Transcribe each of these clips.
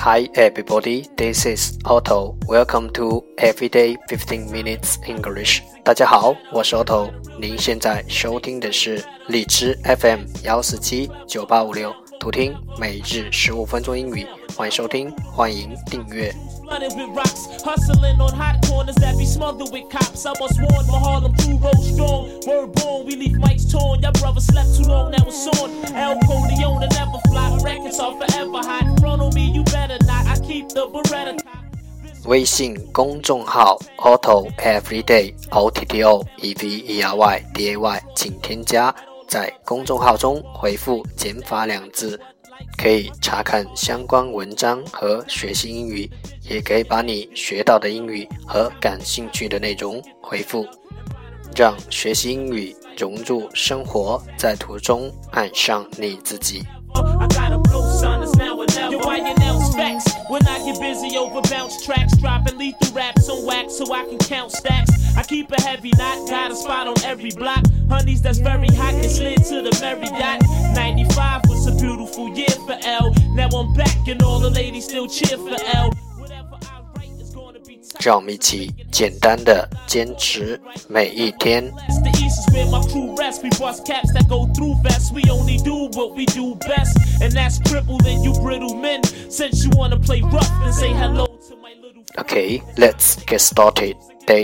Hi everybody, this is Otto. Welcome to Everyday 15 Minutes English. 大家好，我是 Otto。您现在收听的是荔枝 FM 1479856，图听每日15分钟英语。欢迎收听，欢迎订阅。 Hustling on hot corners that be smothered with cops. I was warned my Harlem crew roll strong. Word born, we leave mics torn. Y'all brothers slept too long, now it's on. El Corleone never fly. Records are forever hot. Front on me, you better not. I keep the Beretta top. 微信公众号 Otto Everyday OTTO EVERY DAY 请添加，在公众号中回复减法2字，可以查看相关文章和学习英语，也可以把你学到的英语和感兴趣的内容回复，让学习英语融入生活，在途中爱上你自己。 I got a blow sign that's now or never. Why your nails facts? When I get busy over bounce tracks, dropping lethal raps on wax so I can count stacks. I keep a heavy knot, got a spot on every block. Honeys that's very hot and slid to the Marriott. 95 was a beautiful year for L. Now I'm back and all the ladies still cheer for L. Whatever I write is gonna be tough. 让我们一起简单的坚持每一天。 The east is where my crew rests. We bust caps that go through vests. We only do what we do best, and that's crippled and you brittle men. Since you wanna play rough, then say hello to my little. Okay, let's get started. Day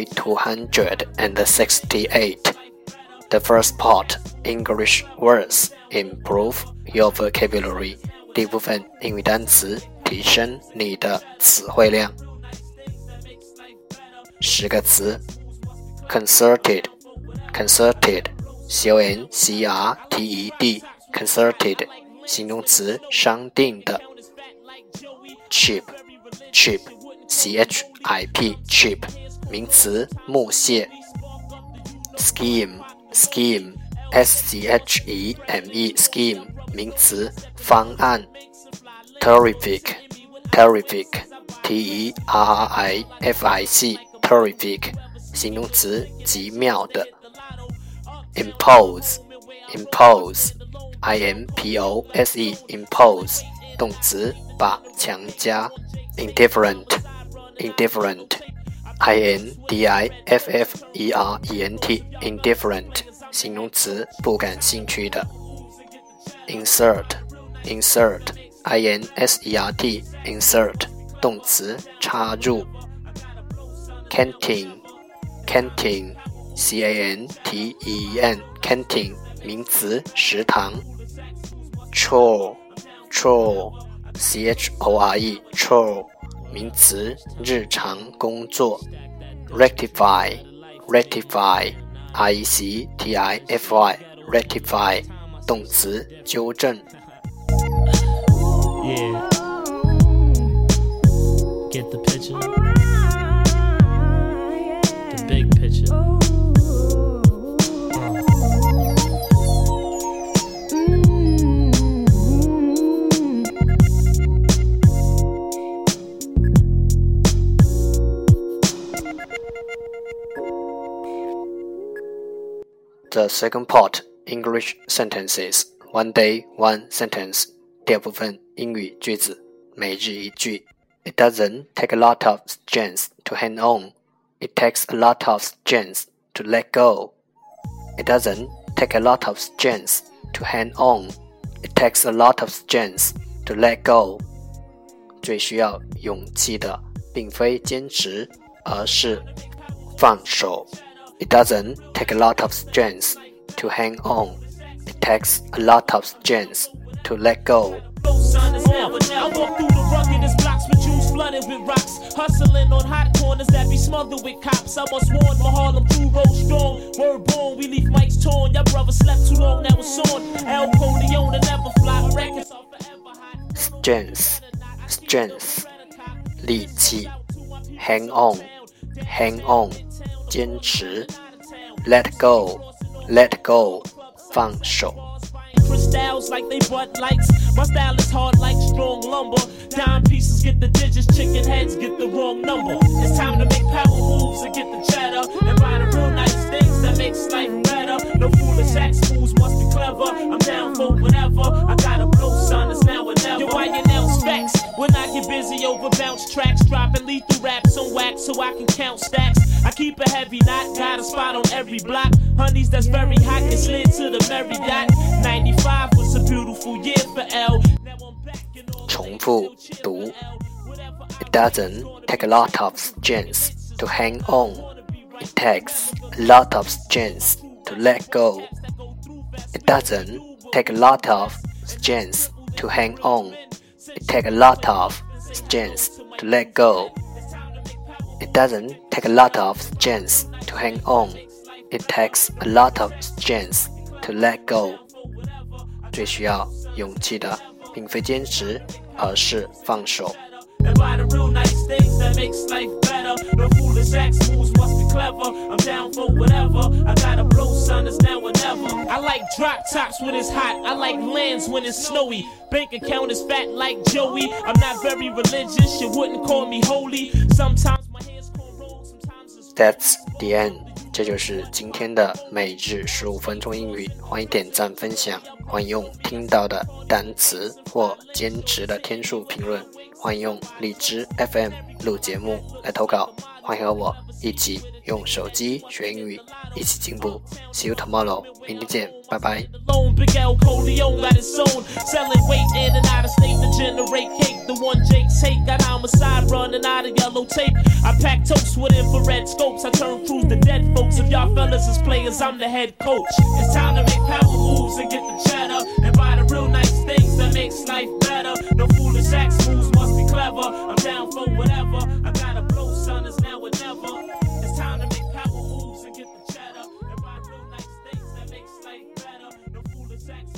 268. The first part, English words. Improve your vocabulary. 第一部分英语单词，提升你的词汇量。10个词 Concerted, Concerted, C-O-N-C-E-R-T-E-D, Concerted, 形容词，商定的。Cheap, Cheap, C-H-I-P, Cheap, 名词，木屑。Scheme, Scheme, S-C-H-E-M-E, Scheme, 名词，方案。Terrific, Terrific, T-E-R-R-I-F-I-C, Terrific, 形容词，极妙的。Impose, Impose, I-M-P-O-S-E, Impose, 动词，把强加。Indifferent, Indifferent, I-N-D-I-F-F-E-R-E-N-T, Indifferent, 形容词，不感兴趣的。Insert, Insert, I-N-S-E-R-T, Insert, 动词，插入。Canteen, Canteen, C-A-N-T-E-N, Canteen, 名词，食堂。Chore, Chore, C-H-O-R-E, Chore, 名词，日常工作。Rectify, Rectify, R-E-C-T-I-F-Y, Rectify, 动词，纠正。 Yeah. Get the picture. The big picture. The second part, English sentences. One day, one sentence. 第二部分，英语句子，每日一句。It doesn't take a lot of strength to hang on. It takes a lot of strength to let go. It doesn't take a lot of strength to hang on. It takes a lot of strength to let go. 最需要勇气的，并非坚持，而是放手。It doesn't take a lot of strength to hang on. It takes a lot of strength to let go. I walk through the ruggedest blocks with jewels flooded with rocks. Hustling on hot corners that be smothered with cops. I was warned my Harlem crew roll strong. Word born, we leave mics torn. Y'all brothers slept too long, now it's on. El Corleone never fly. Records are forever hot. Strength, strength, 力气。Hang on, hang on, 坚持。Let go, let go, 放手。 Crystals like they butt lights. My style is hard like strong lumber. Dime pieces get the digits, chicken heads get the wrong number. It's time to make power moves and get the cheddar and buy the real nice things that makes life better. No foolish acts, fools must be clever. I'm down for whatever. I got a blow sign that's now or never. Yo, why your nails facts? When I get busy bounce tracks, dropping lethal raps on wax so I can count stacks. I keep a heavy knot, got a spot on every block. Honeys that's very hot get slid to the Marriott. 95 was a beautiful year for L. Now I'm back in all 重复读 It doesn't take a lot of strength to hang on. It takes a lot of strength to let go. It doesn't take a lot of strength to hang on. It takes a lot of strength to let go. It doesn't take a lot of strength to hang on. It takes a lot of strength to let go. 最需要勇气的并非坚持，而是放手。 And buy the real nice things that makes life better. The foolish axe moves must be clever. I'm down for whatever. I gotta blow, son, it's now or never. I like drop tops when it's hot. I like lands when it's snowy. Bank account is fat like Joey. I'm not very religious. You wouldn't call me holy. Sometimes my hands cornrow. Sometimes it's That's the end. 这就是今天的每日15分钟英语，欢迎点赞分享，欢迎用听到的单词或坚持的天数评论，欢迎用荔枝 FM 录节目来投稿，欢迎和我一起用手机学英语，一起进步。See you tomorrow， 明天见，拜拜。 Big L Coleon got its own, selling weight in and out of state to generate cake. The one Jake take got homicide running out of yellow tape. I pack toast with infrared scopes. I turn crews to dead folks. If y'all fellas is players, I'm the head coach. It's time to make power moves and get the cheddar and buy the real nice things that makes life better. No foolish axe moves must be clever. I'm down for whatever. I gotta blow, son, it's now or never. It's time to make power moves and get the cheddar and buy real nice things that makes life better. No foolish axe